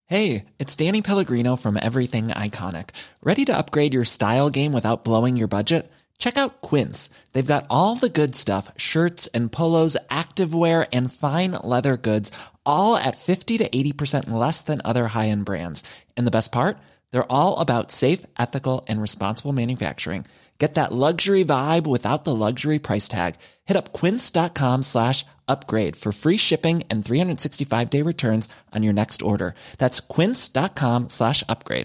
Hey, it's Danny Pellegrino from Everything Iconic. Ready to upgrade your style game without blowing your budget? Check out Quince. They've got all the good stuff, shirts and polos, activewear, and fine leather goods, all at 50 to 80% less than other high-end brands. And the best part? They're all about safe, ethical, and responsible manufacturing. Get that luxury vibe without the luxury price tag. Hit up quince.com/upgrade for free shipping and 365-day returns on your next order. That's quince.com/upgrade.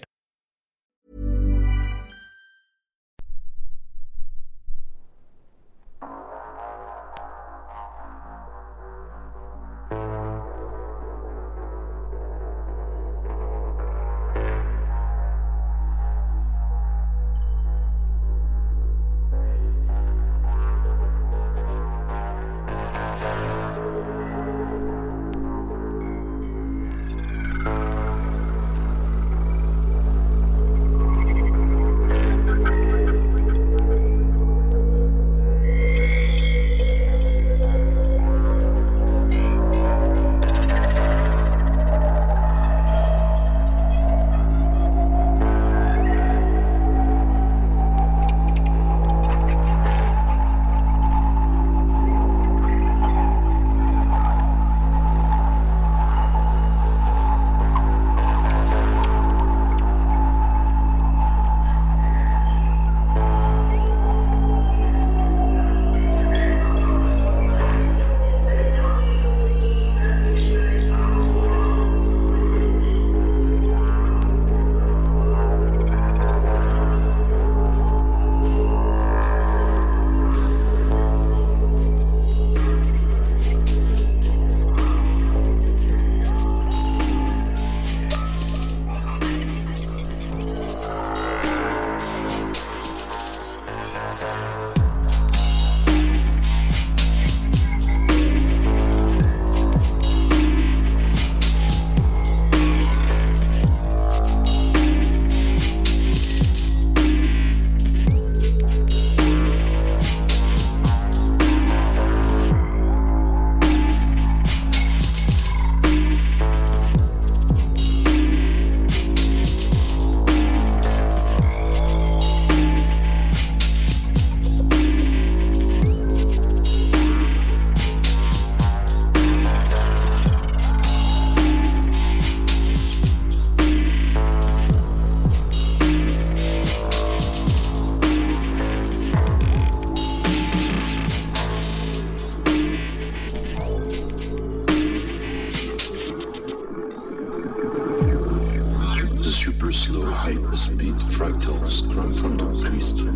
hyperspeed fractals come from the crystal.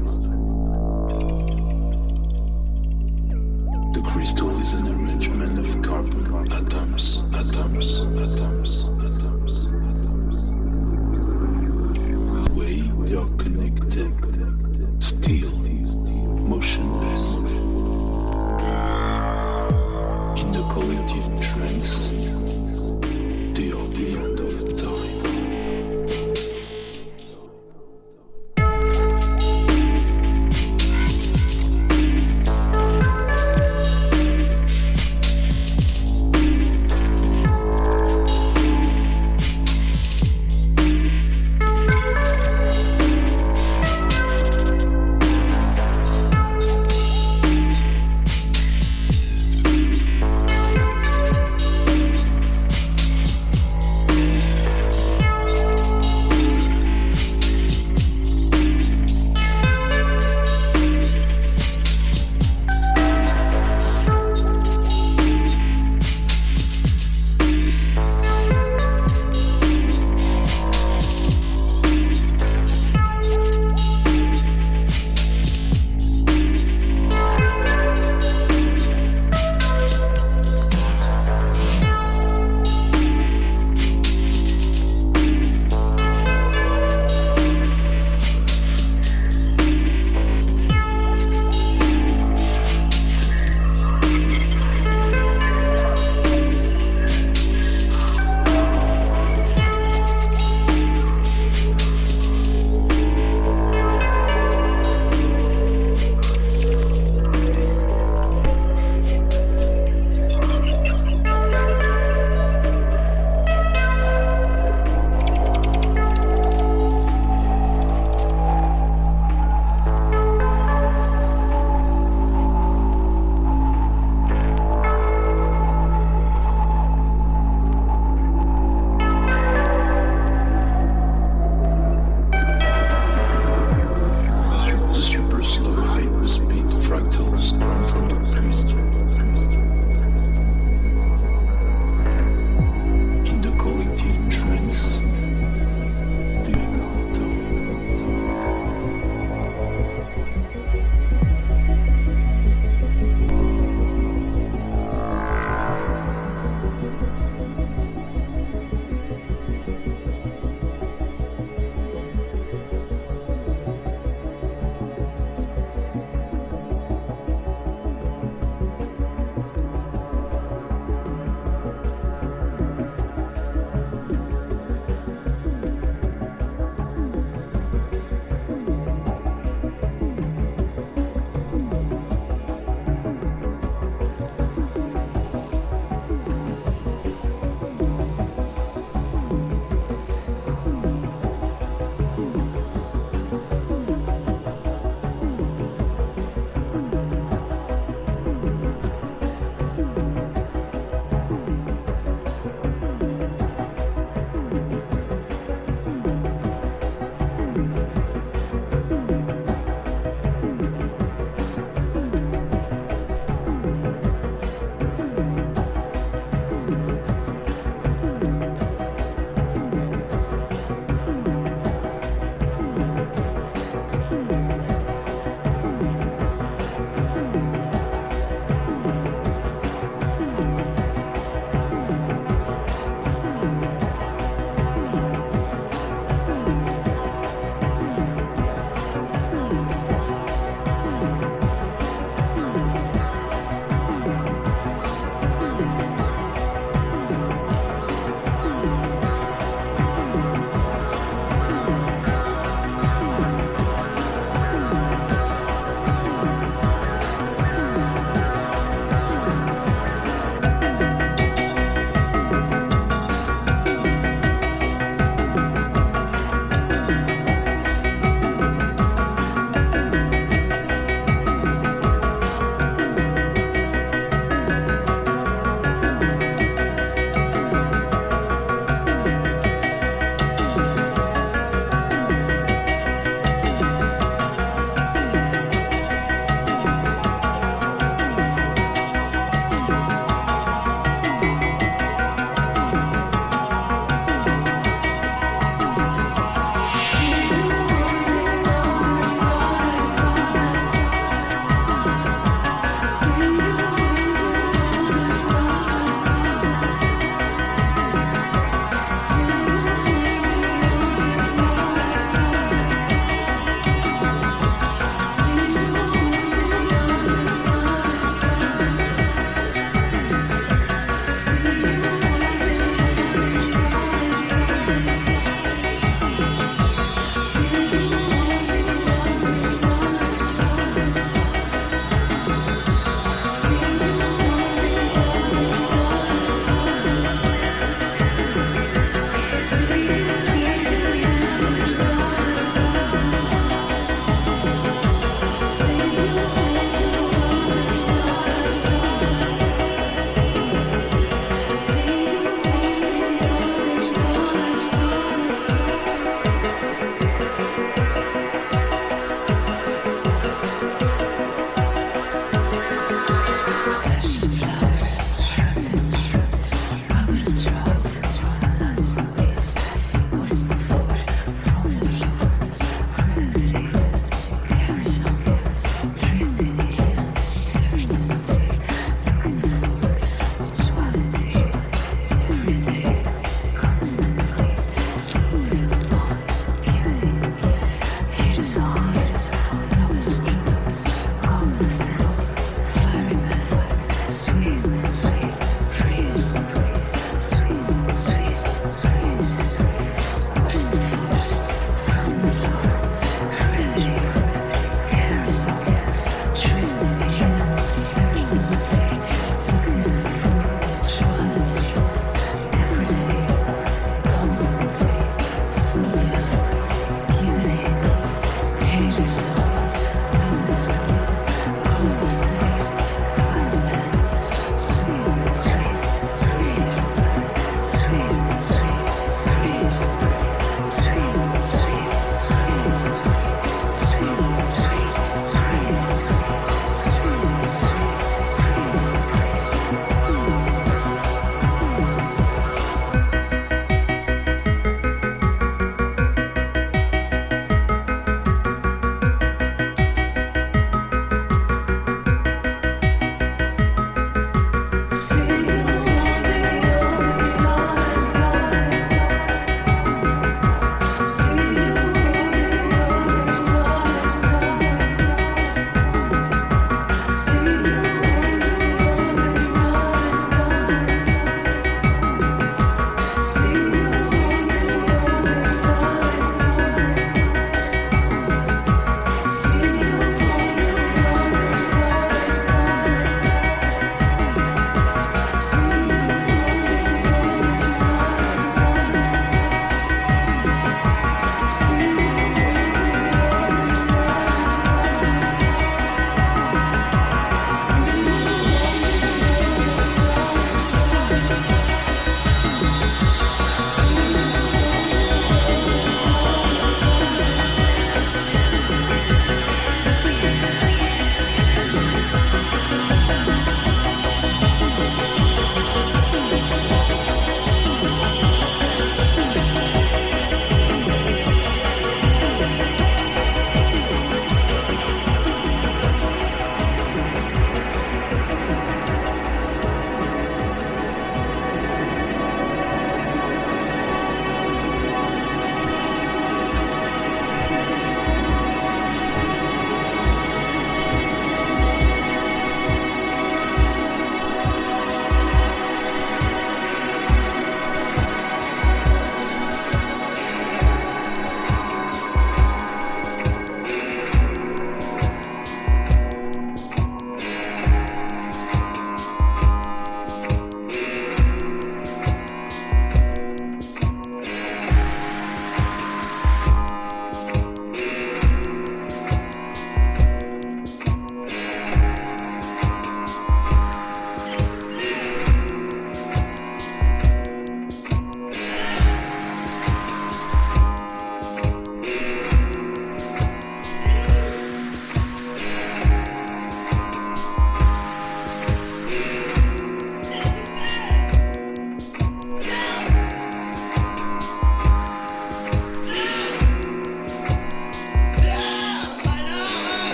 The crystal is an arrangement of carbon atoms. The way they are connected, still motionless. In the collective trance, they are the end of time.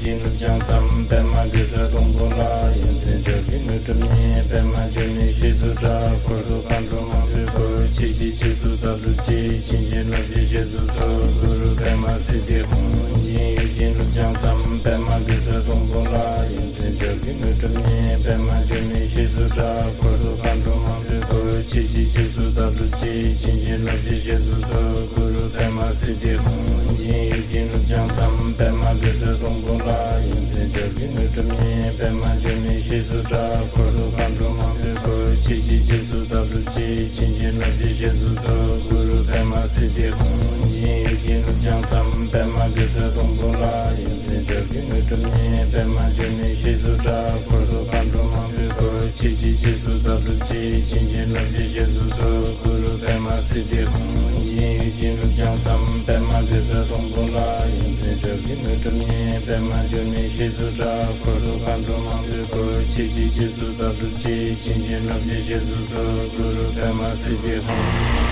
金龙江咱们白马绿色东不拉，眼前这给你这面白马就你西苏扎，过头看着马对过，七七七苏的路基，清晰路基西苏走，路路白马西的红，金有金龙江咱们白马绿色东不拉，眼前这给你这面白马就你西苏扎，过头看着马对过，七七七苏的路基，清晰路基西苏走，路路白马西的红，金有金龙江咱们白马绿色东不拉，眼前这给你这面白马就你西苏扎，过头看着马对过，七七七苏的路基，清晰路基西苏走，路路白马西的红，金有金龙江咱们白马绿色东不拉，眼前这给你这面白马就你西苏扎，过头看着马对过，七七七苏的路基，清晰路基西苏走，路路白马西的红，金有金龙江咱们白马绿色东不拉，眼前这给你这面白马就你西苏扎，过头看着马对过，七七七苏的路基，清晰路基西苏走，路路白马西的红。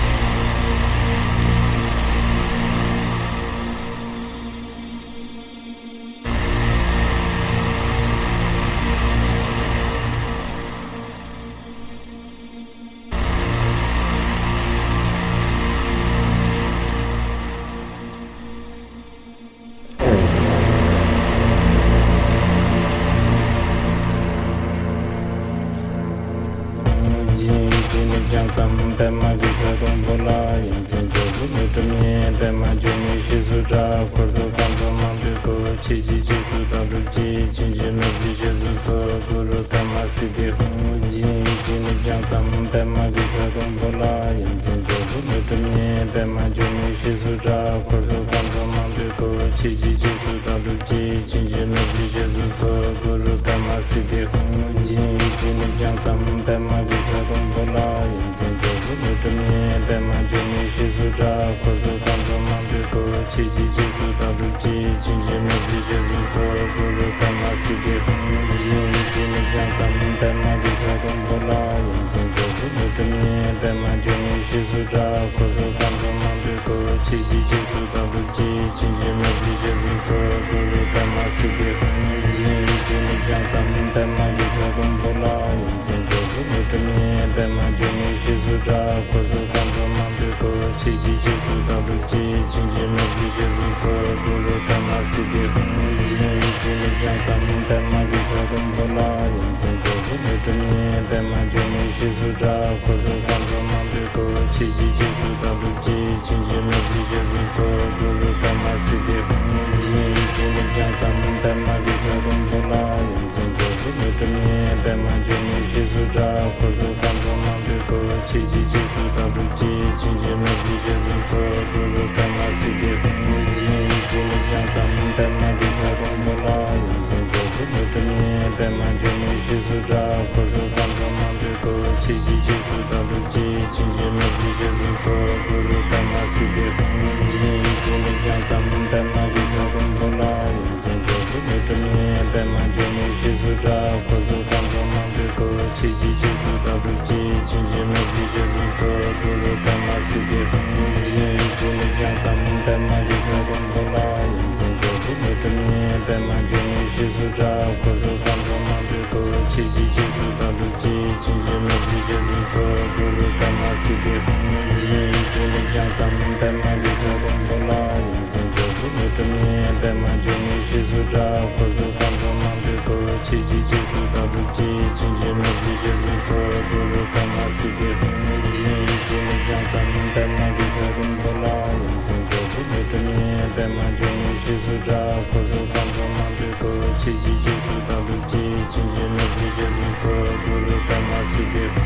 咱们白马绿色东不拉，眼前这给你这面白马就你西苏扎，过头看着马对过，七七七苏的路基，清晰路基西苏走，路路白马西的红，金有金龙江咱们白马绿色东不拉，眼前这给你这面白马就你西苏扎，过头看着马对过，七七七苏的路基，清晰路基西苏走，路路白马西的红，金有金龙江咱们白马绿色东不拉，眼前这给你这面白马就你西苏扎，过头看着马对过，七七七苏的路基，清晰路基西苏走，路路白马西的红，金有金龙江咱们白马绿色东不拉，眼前这给你这面白马就你西苏扎，过头看着马对过，七七七苏的路基，清晰路基西苏走，路路白马西的红，金有金龙江咱们白马绿色东不拉，眼前这给你这面白马就你西苏扎，过头看着马对过，七七七苏的路基，清晰路基西苏走，路路白马西的红，金有金龙江咱们白马绿色东不拉，眼前这给你这面白马就你西苏扎，过头看着马对过，七七七苏的路基，清晰路基西苏走，路路白马西的红，金有金龙江咱们白马绿色东不拉，眼前这给你这面白马就你西苏扎，过头看着马对过，七七七苏的路基，清晰路基西苏走，路路白马西的红，金有金龙江咱们白马绿色东不拉，眼前这给你这面白马就你西苏扎，过头看着马对过，七七七苏的路基，清晰路基西苏走，路路白马西的红，金有金龙江咱们白马绿色东不拉，眼前这给你这面白马就你西苏扎，过头看着马对过，七七七苏的路基，清晰路基西苏走，路路白马西的红，金有金龙江咱们白马绿色东不拉，眼前这给你这面白马就你西苏扎，过头看着马对过，七七七苏的路基，清晰路基西苏走，路路白马西的红，金有金龙江咱们白马绿色东不拉，眼前这给你这面白马就你西苏扎，过头看着马对过，七七七苏的路基，清晰路基西苏走，路路白马西的红，金有金龙江咱们白马绿色东不拉，眼前这给你这面白马就你西苏扎，过头看着马对过，七七七苏的路基，清晰路基西苏走，路路白马西的红。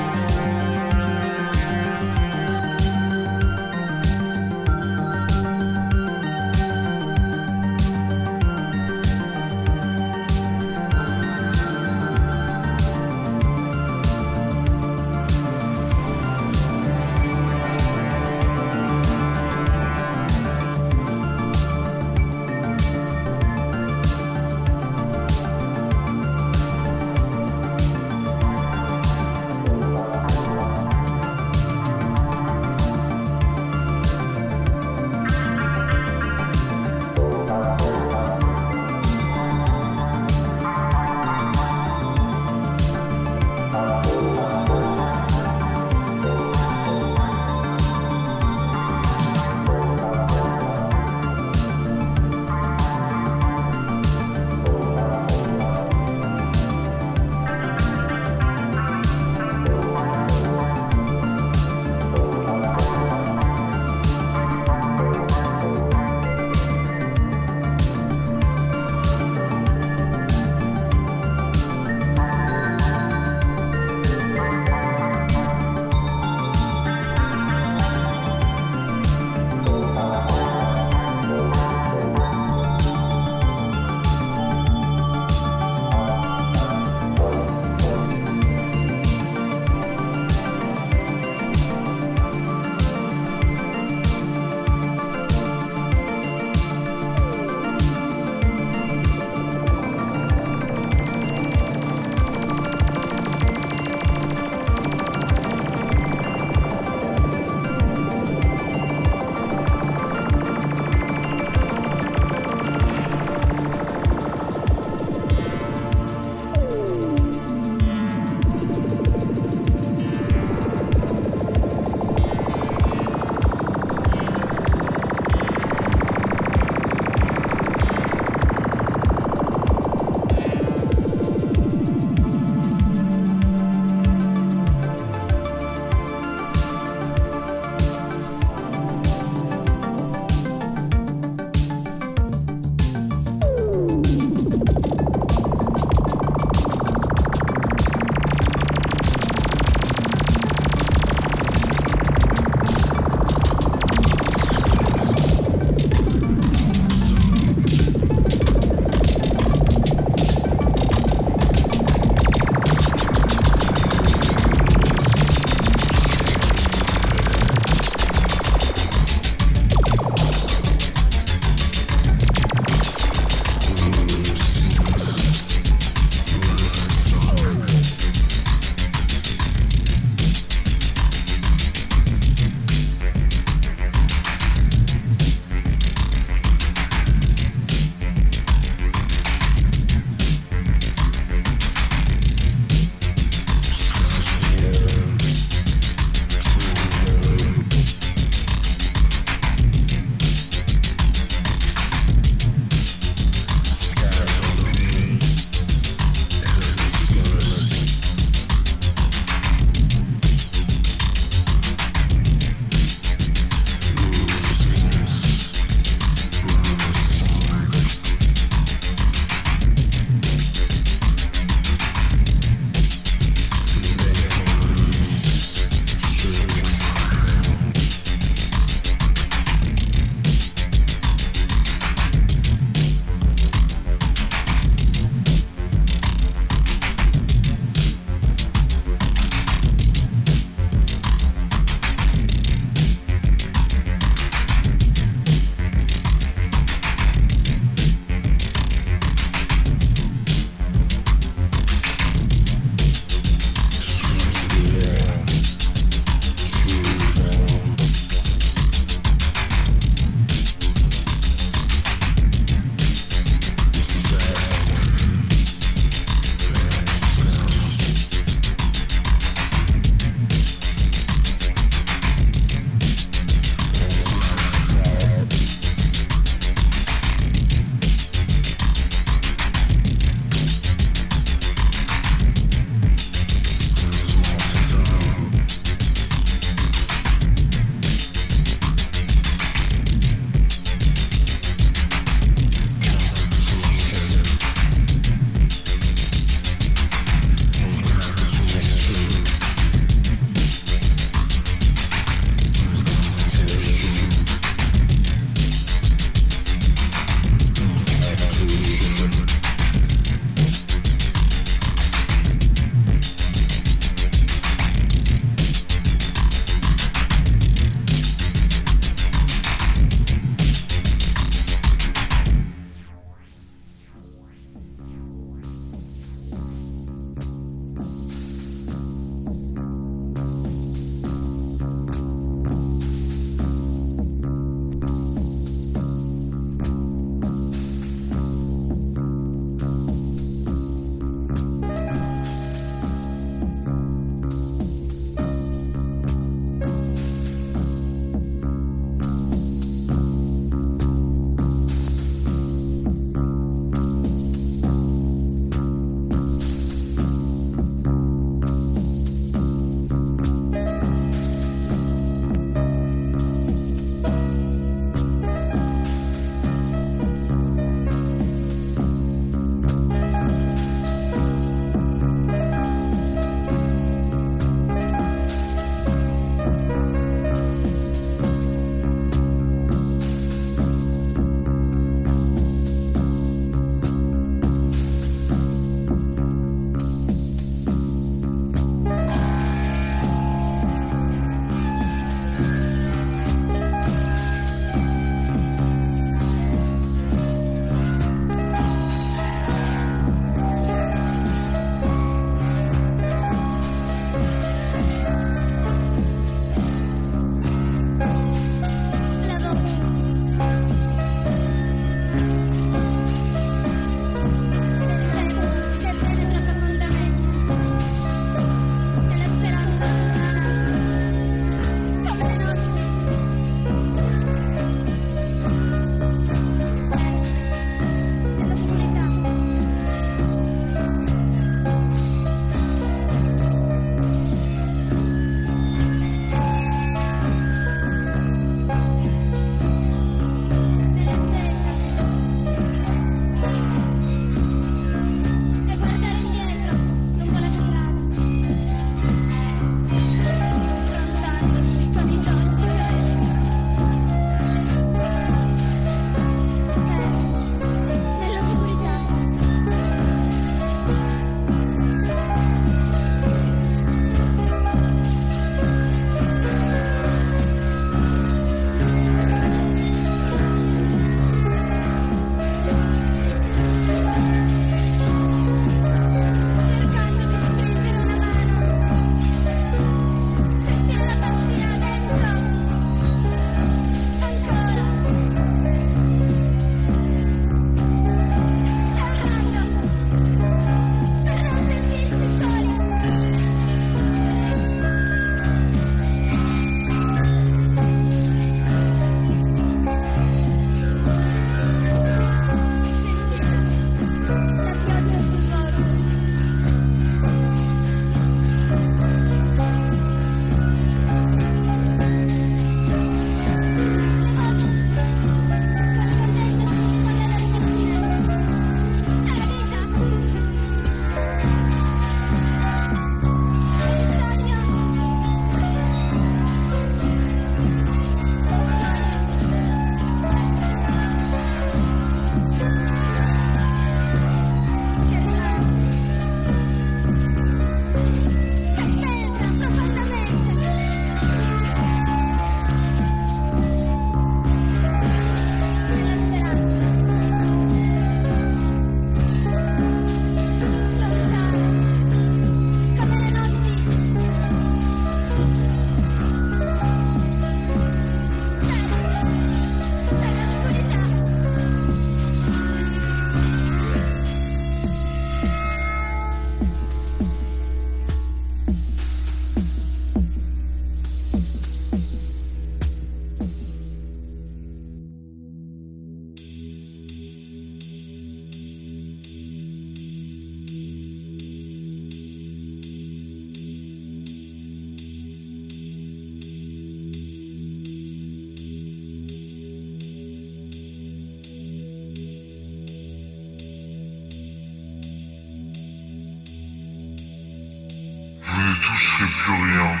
plus rien.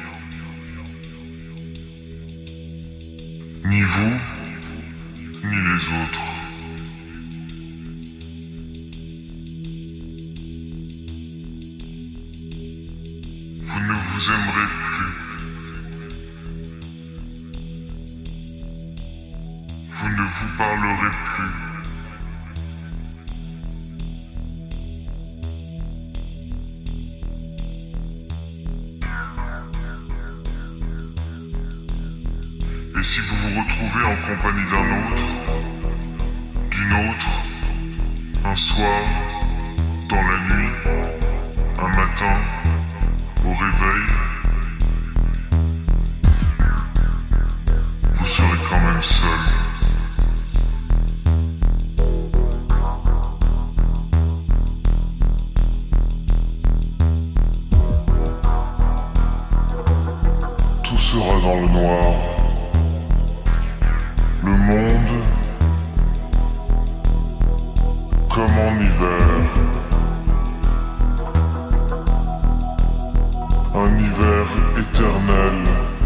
Ni vous, ni les autres. Vous ne vous aimerez plus. Vous ne vous parlerez plus. Et si vous vous retrouvez en compagnie d'un autre, d'une autre, un soir, dans la nuit, un matin, au réveil, vous serez quand même seul. Tout sera dans le noir. Le monde, comme en hiver, un hiver éternel.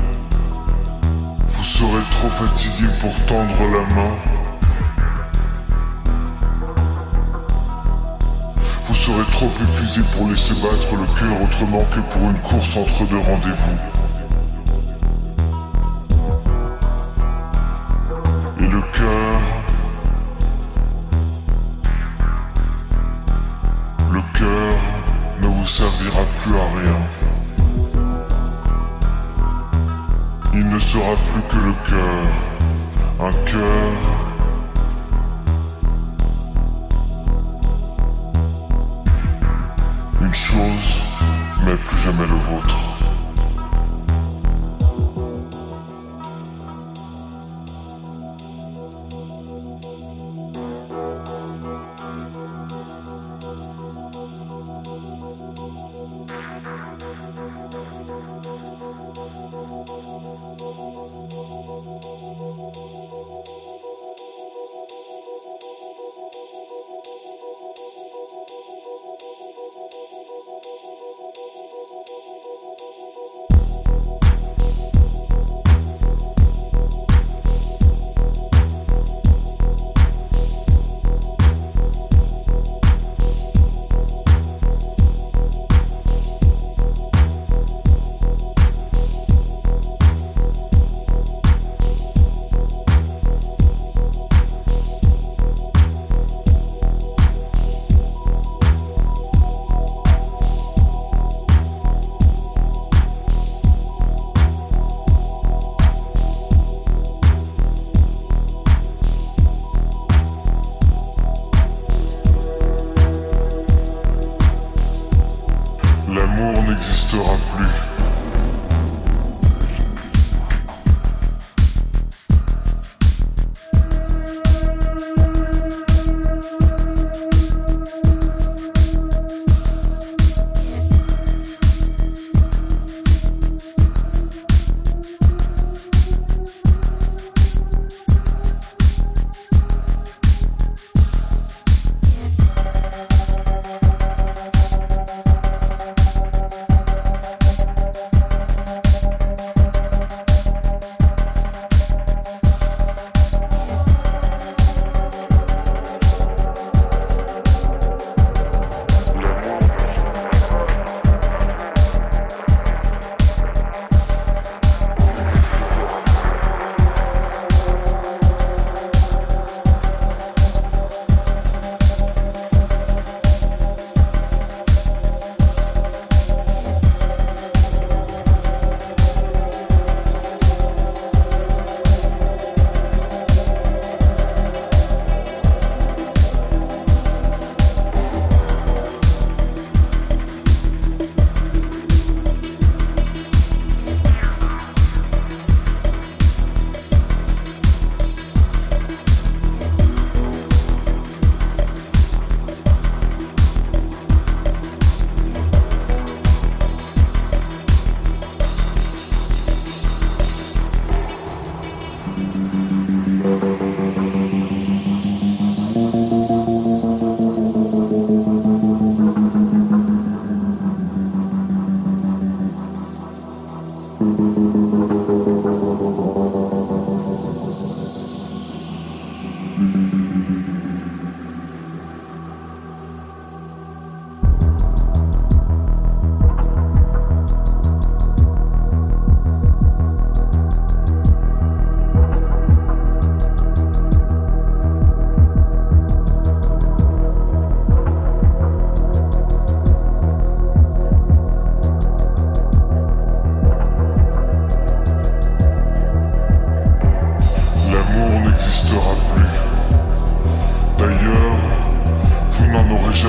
Vous serez trop fatigué pour tendre la main. Vous serez trop épuisé pour laisser battre le cœur autrement que pour une course entre deux rendez-vous. Le cœur ne vous servira plus à rien. Il ne sera plus que le cœur, un cœur une chose, mais plus jamais le vôtre.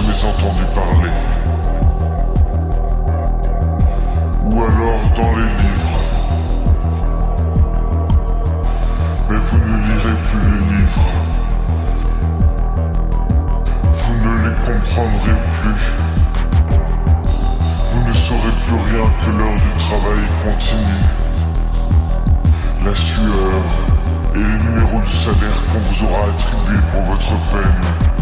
jamais entendu parler. Ou alors dans les livres. Mais vous ne lirez plus les livres. Vous ne les comprendrez plus. Vous ne saurez plus rien que l'heure du travail continue. La sueur et les numéros du salaire qu'on vous aura attribués pour votre peine.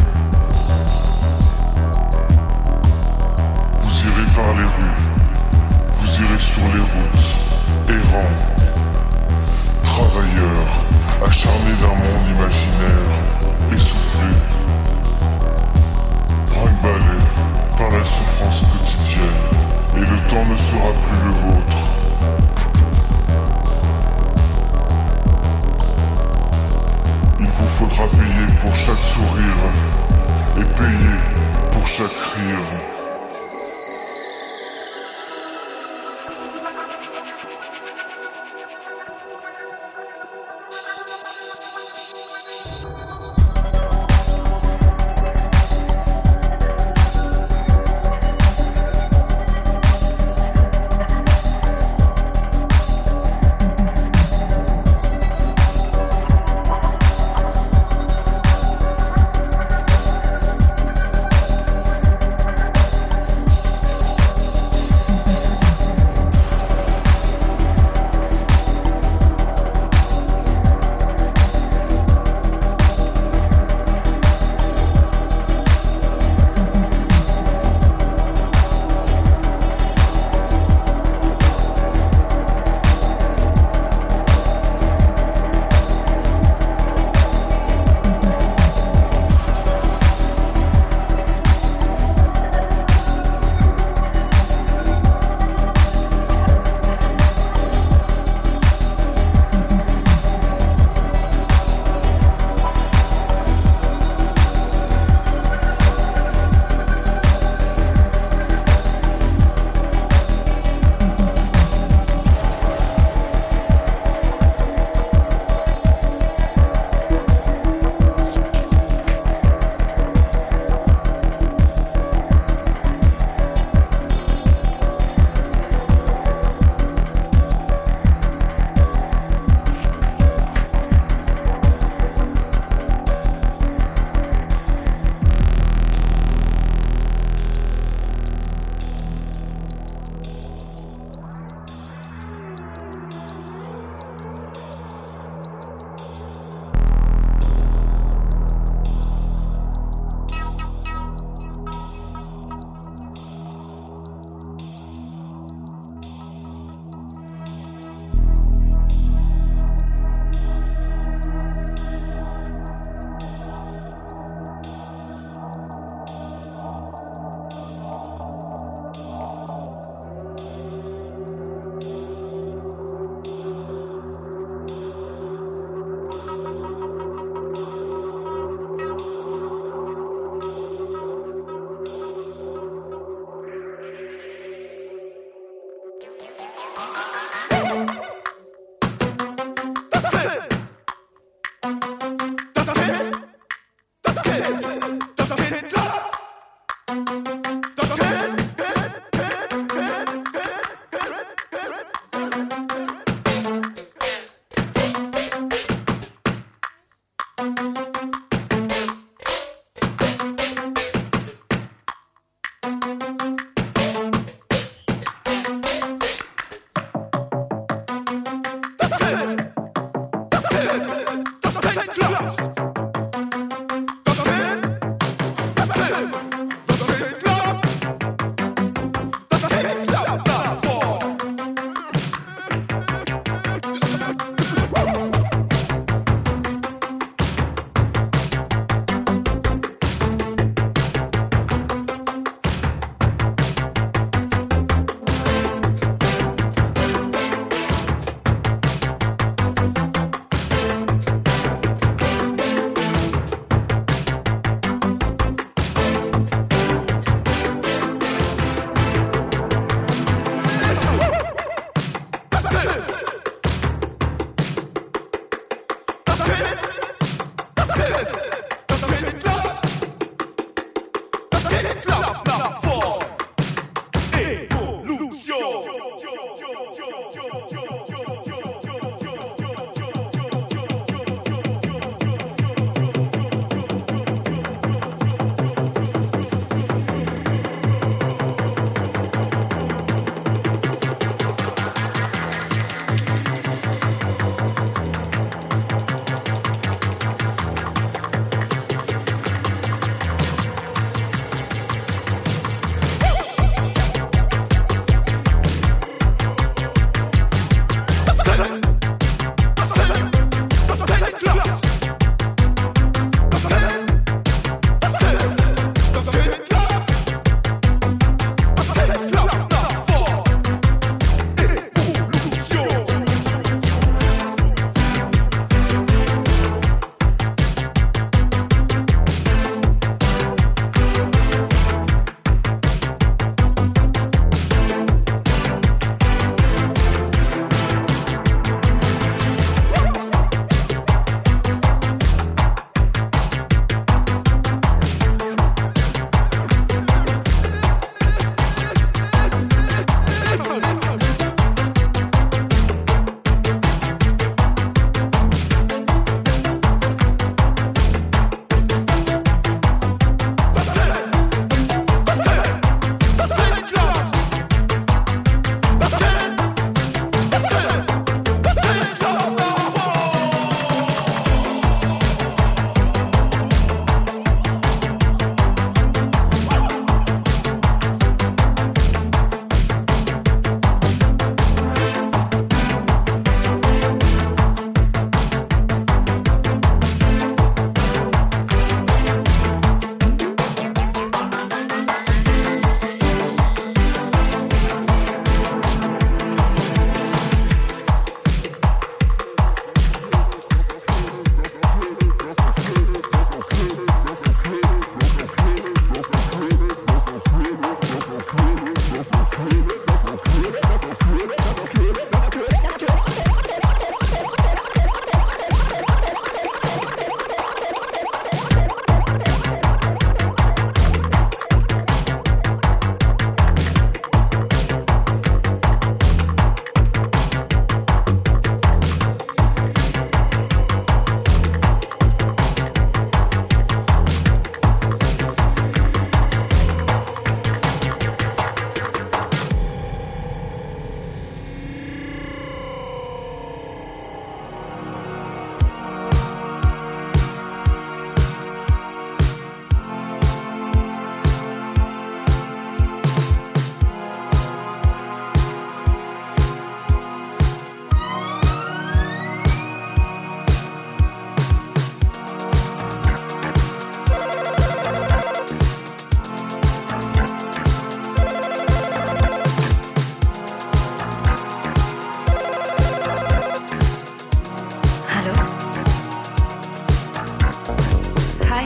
Vous irez par les rues, vous irez sur les routes, errants, travailleurs, acharnés d'un monde imaginaire, essoufflés, brinque-ballés par la souffrance quotidienne, et le temps ne sera plus le vôtre. Il vous faudra payer pour chaque sourire et payer pour chaque rire.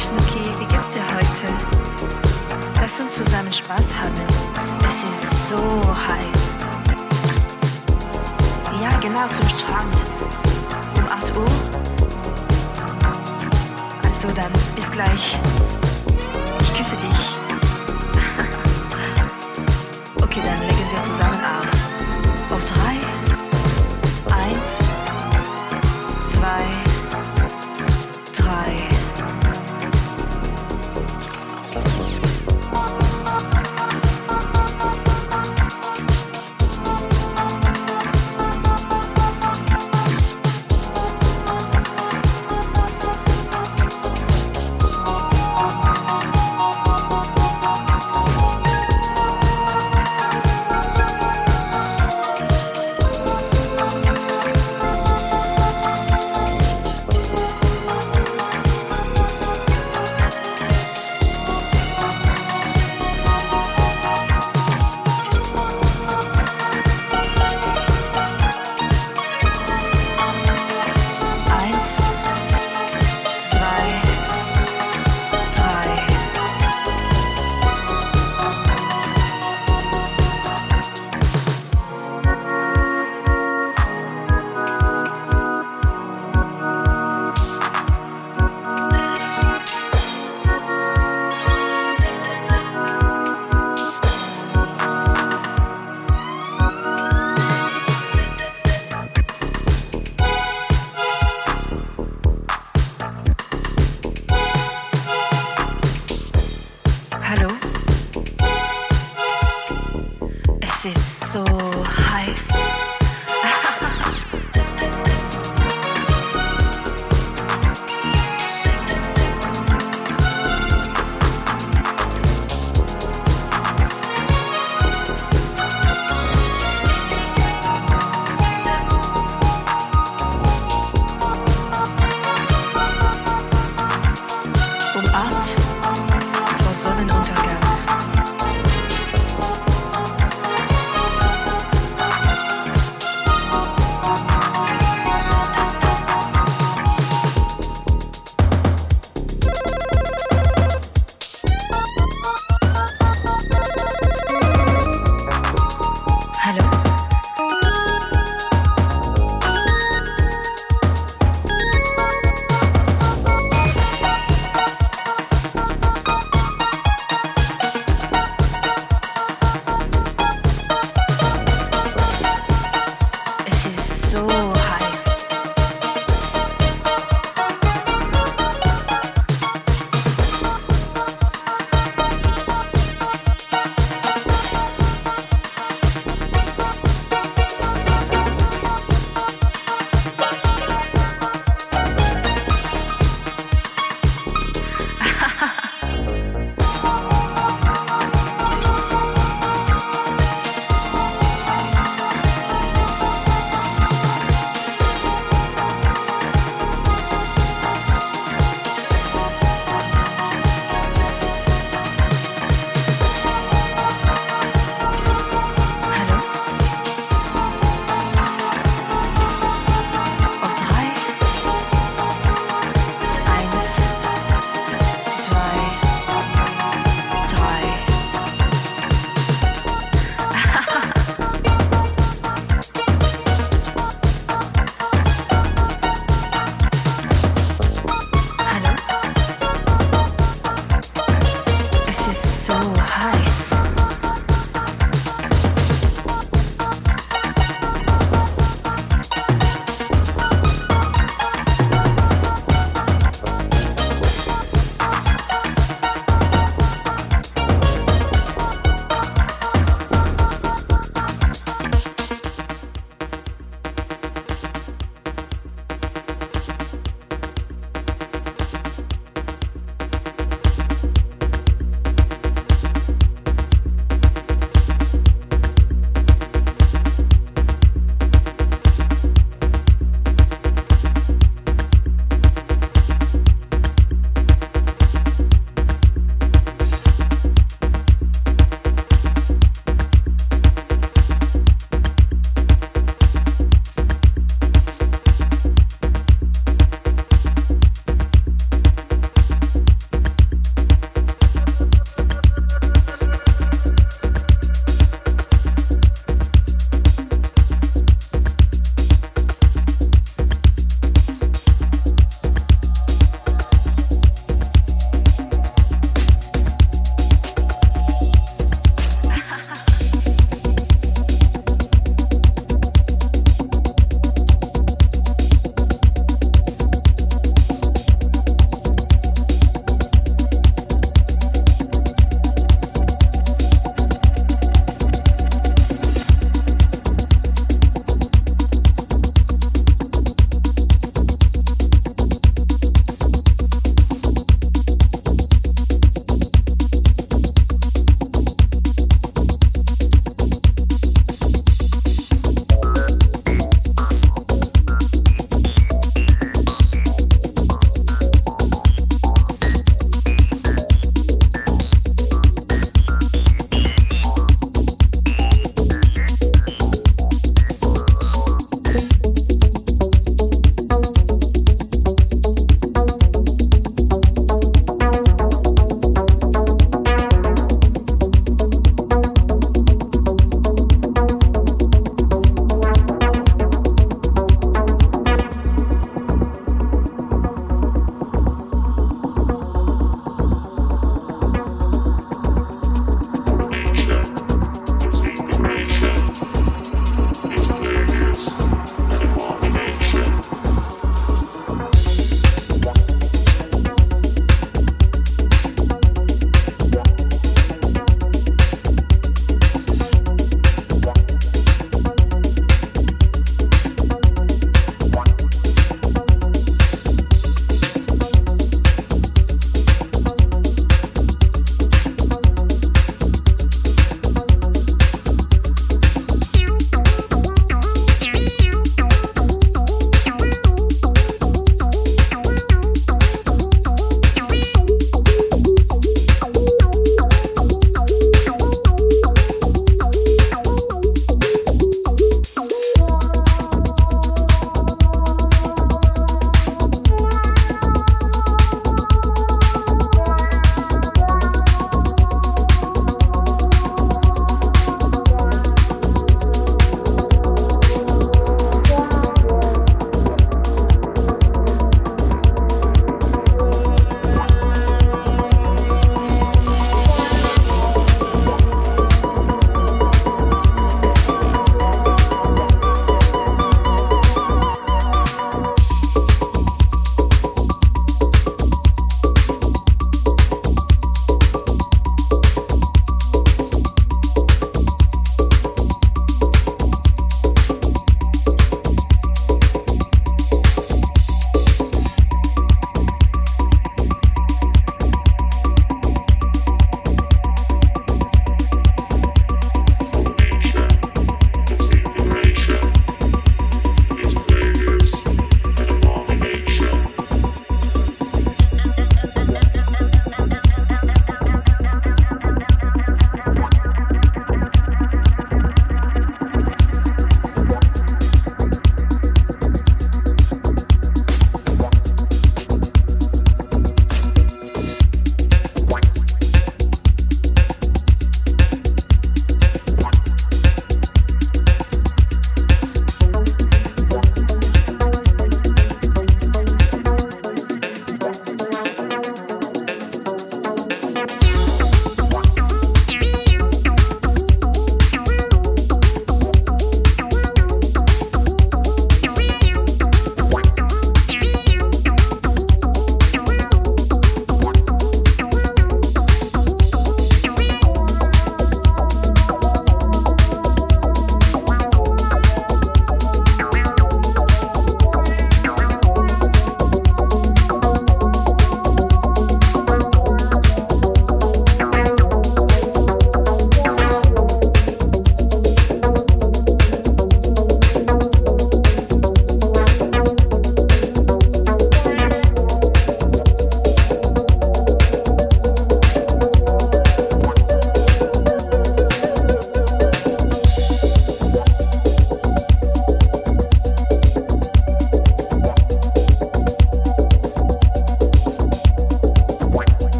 Schnucki, wie geht's dir heute? Lass uns zusammen Spaß haben. Es ist so heiß. Ja, genau, zum Strand. Um 8 Uhr. Also dann, bis gleich. Ich küsse dich. Okay, dann legen wir zusammen auf. Auf 3. 1, 2, 3. Hallo? Es ist so heiß. Um 8 vor Sonnenuntergang. Hallo?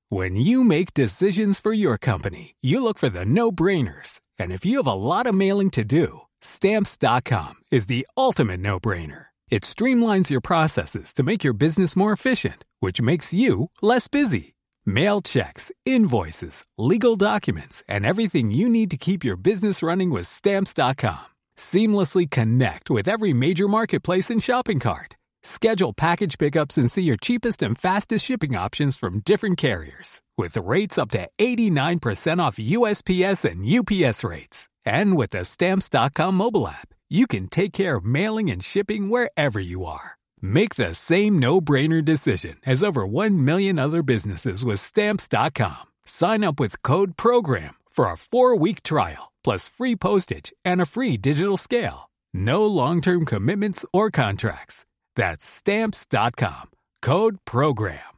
When you make decisions for your company, you look for the no-brainers. And if you have a lot of mailing to do, Stamps.com is the ultimate no-brainer. It streamlines your processes to make your business more efficient, which makes you less busy. Mail checks, invoices, legal documents, and everything you need to keep your business running with Stamps.com. Seamlessly connect with every major marketplace and shopping cart. Schedule package pickups and see your cheapest and fastest shipping options from different carriers, with rates up to 89% off USPS and UPS rates. And with the Stamps.com mobile app, you can take care of mailing and shipping wherever you are. Make the same no-brainer decision as over 1 million other businesses with Stamps.com. Sign up with code PROGRAM for a 4-week trial, plus free postage and a free digital scale. No long-term commitments or contracts. That's Stamps.com. Code PROGRAM.